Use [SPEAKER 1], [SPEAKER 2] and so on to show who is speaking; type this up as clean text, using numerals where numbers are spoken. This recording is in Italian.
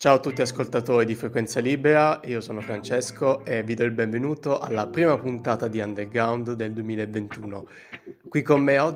[SPEAKER 1] Ciao a tutti ascoltatori di Frequenza Libera, io sono Francesco e vi do il benvenuto alla prima puntata di Underground del 2021. Qui con me oggi